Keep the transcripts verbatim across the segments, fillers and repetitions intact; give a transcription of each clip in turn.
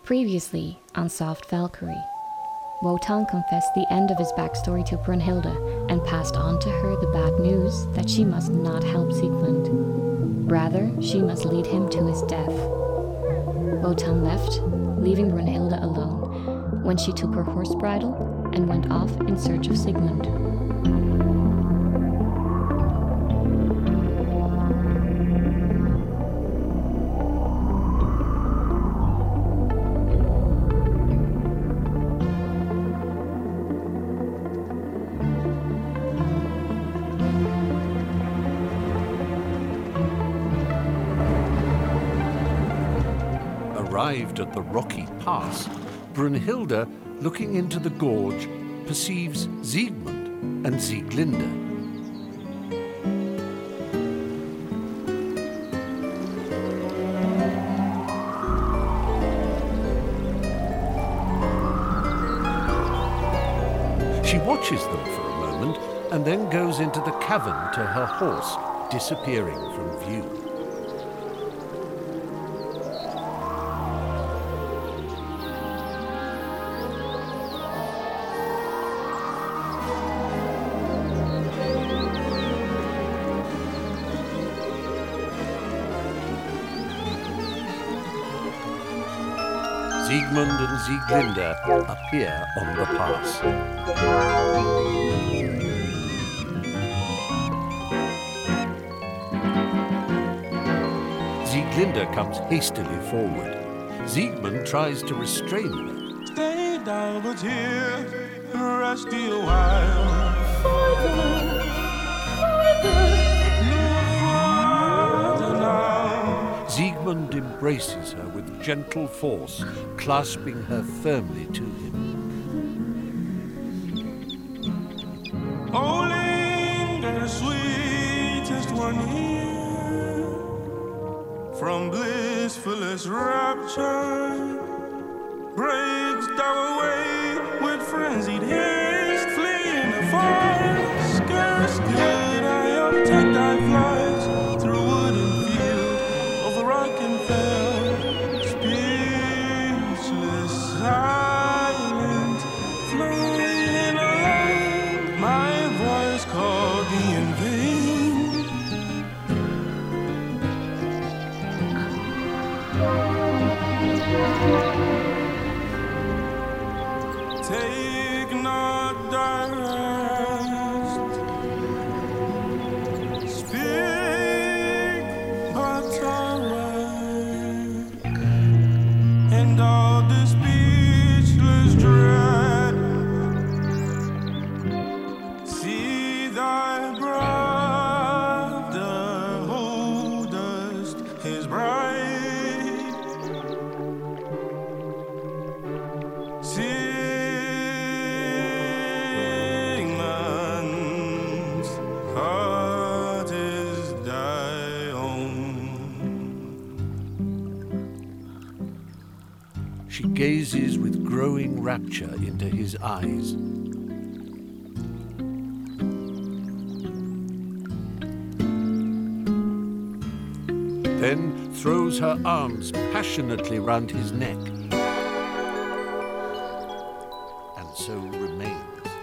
Previously on Soft Valkyrie, Wotan confessed the end of his backstory to Brunhilde and passed on to her the bad news that she must not help Siegmund. Rather, she must lead him to his death. Wotan left, leaving Brunhilde alone, when she took her horse bridle and went off in search of Sigmund. Arrived at the rocky pass, Brunhilde, looking into the gorge, perceives Siegmund and Sieglinde. She watches them for a moment and then goes into the cavern to her horse, disappearing from view. Siegmund and Sieglinde appear on the pass. Sieglinde comes hastily forward. Siegmund tries to restrain her. Stay down but here, rest you a while. Father, Father, no father now. Siegmund embraces her with gentle force, clasping her firmly to him. Oh, linger, sweetest one here, from blissfulest rapture, breaks thou away with frenzied haste, fleeing afar. Scarce could I obtain thy flight through wood and field, over rock and fell, speechless, silent, flying alone. My voice called thee in vain. Take not thy rest, speak but a word, and all the speechless dread. See thy brother holdest his bride. Sigmund's heart is thy own. She gazes with growing rapture into his eyes. Then throws her arms passionately round his neck, and so remains.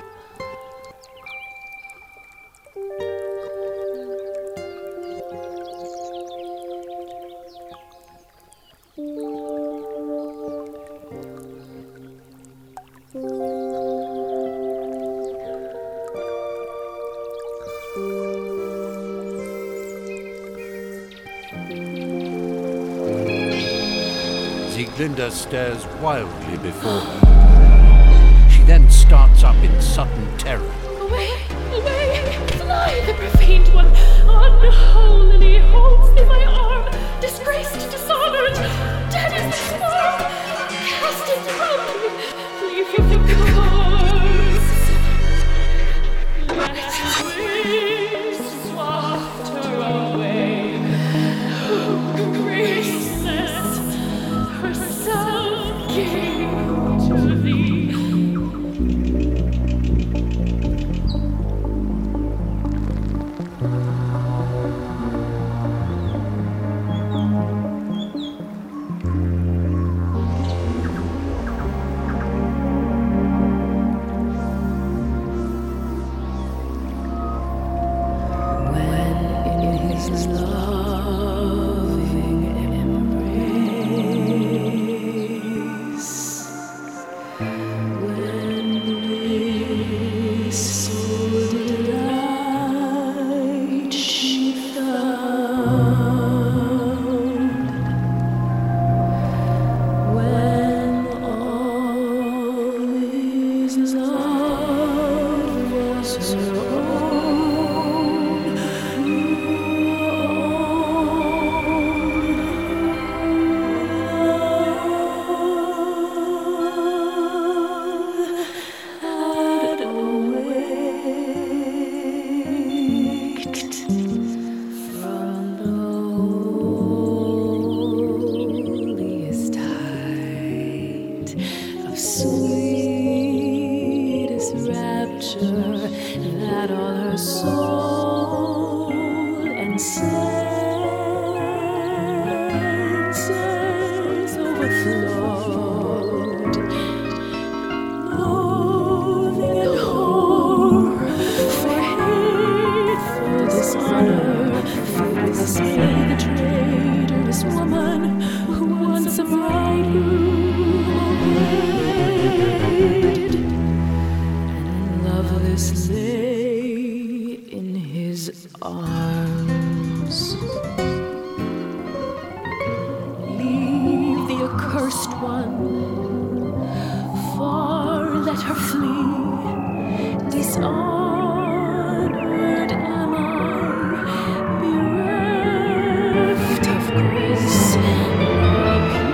Sieglinde stares wildly before her. She then starts up in sudden terror. Away, away, fly, the profaned one, unholily holds thee my arm, disgraced, dishonored, dead is this form, cast it from me, leave him the corpse, let waves waft her away, who graceless herself gave to thee. obeyed, and loveless lay in his arms. Leave the accursed one, far let her flee. Dishonored am I, bereft of grace, the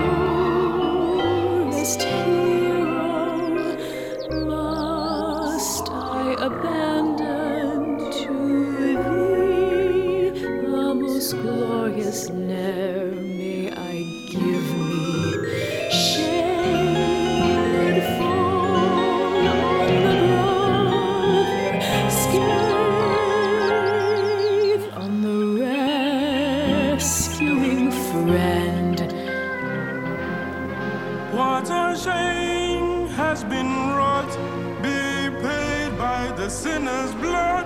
purest hero must I abandon to thee. The most glorious ne'er may I give me. Shade fall on the brother, scathe on the rescuing friend. What a shame has been wrought, be paid by the sinner's blood.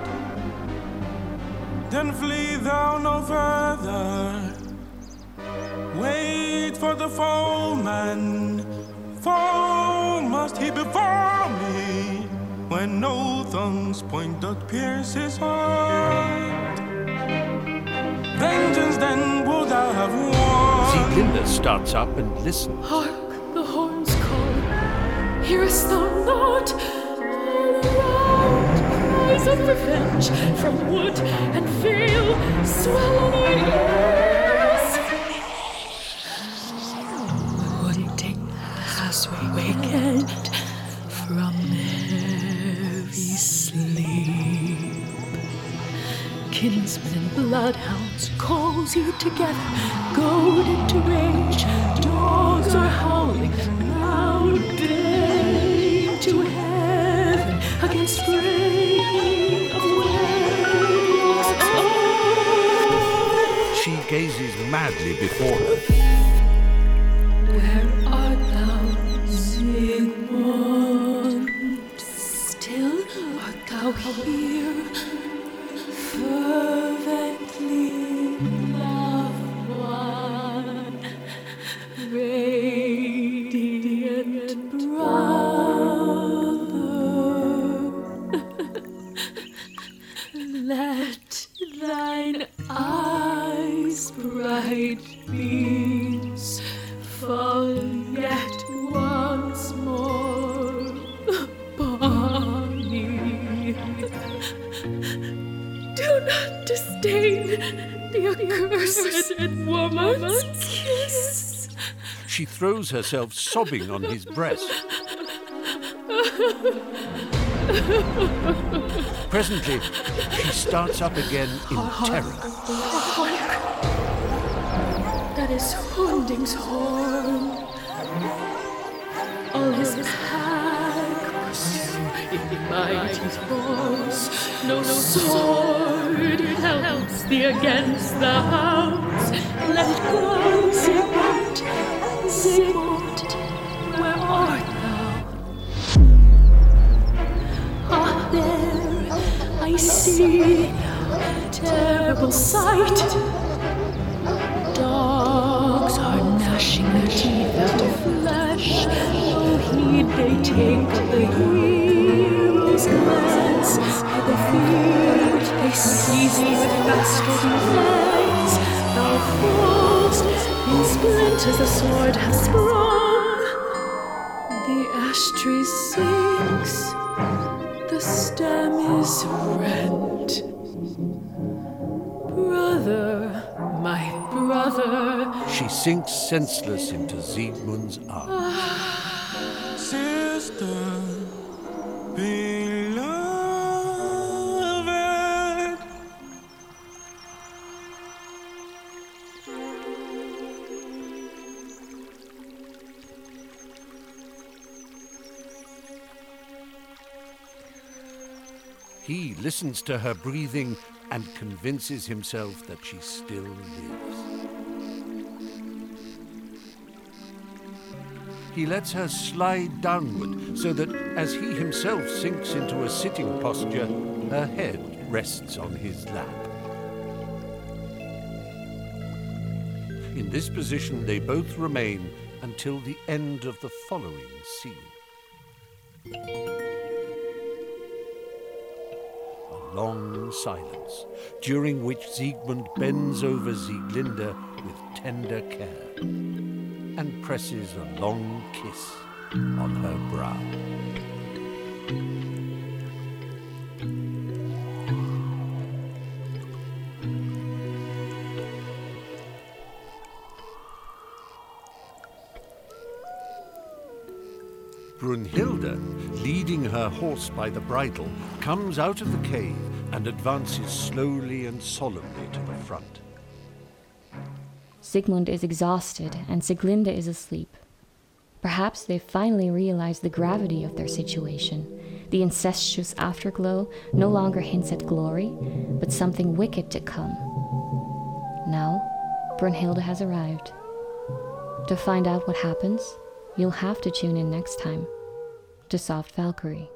Then flee thou no further. Wait for the foeman, for must he before me, when no thong's point doth pierce his heart. Vengeance then would thou have won. Sieglinde starts up and listens. Hark, the horns call. Hearest thou not? All around cries of revenge from wood and vale swell on our ears. Haunting as we wakened from heavy sleep. Kinsmen and bloodhounds calls you together, goaded to rage. Dogs are howling loud, baying to heaven against breaking of waves. Oh! She gazes madly before her. Where art thou, Sigmund? Still art thou here, fervently loved one, radiant brother. Let thine eyes bright beams fall yet once more upon me. Do not disdain the accursed woman's kiss. She throws herself sobbing on his breast. Presently, she starts up again in terror. That is Hunding's horn. All his pack pursue in mighty force. No sword helps thee against the hounds. Let it go, Sigmund. Sigmund, where art thou? Ah, there I see a terrible sight. Dogs are gnashing their teeth out of flesh. No heed they take the hero's glance. By the feet they seize thee with fast-holding legs. Thou fall'st in splinters, the sword has sprung. The ash tree sinks, the stem is rent. Brother, my brother. She sinks senseless into Siegmund's arms. Sister, beloved. He listens to her breathing and convinces himself that she still lives. He lets her slide downward so that as he himself sinks into a sitting posture, her head rests on his lap. In this position they both remain until the end of the following scene. A long silence, during which Siegmund bends over Sieglinde with tender care and presses a long kiss on her brow. Brunhilde, leading her horse by the bridle, comes out of the cave and advances slowly and solemnly to the front. Sigmund is exhausted and Sieglinde is asleep. Perhaps they finally realize the gravity of their situation. The incestuous afterglow no longer hints at glory, but something wicked to come. Now, Brunhilde has arrived. To find out what happens, you'll have to tune in next time to Soft Valkyrie.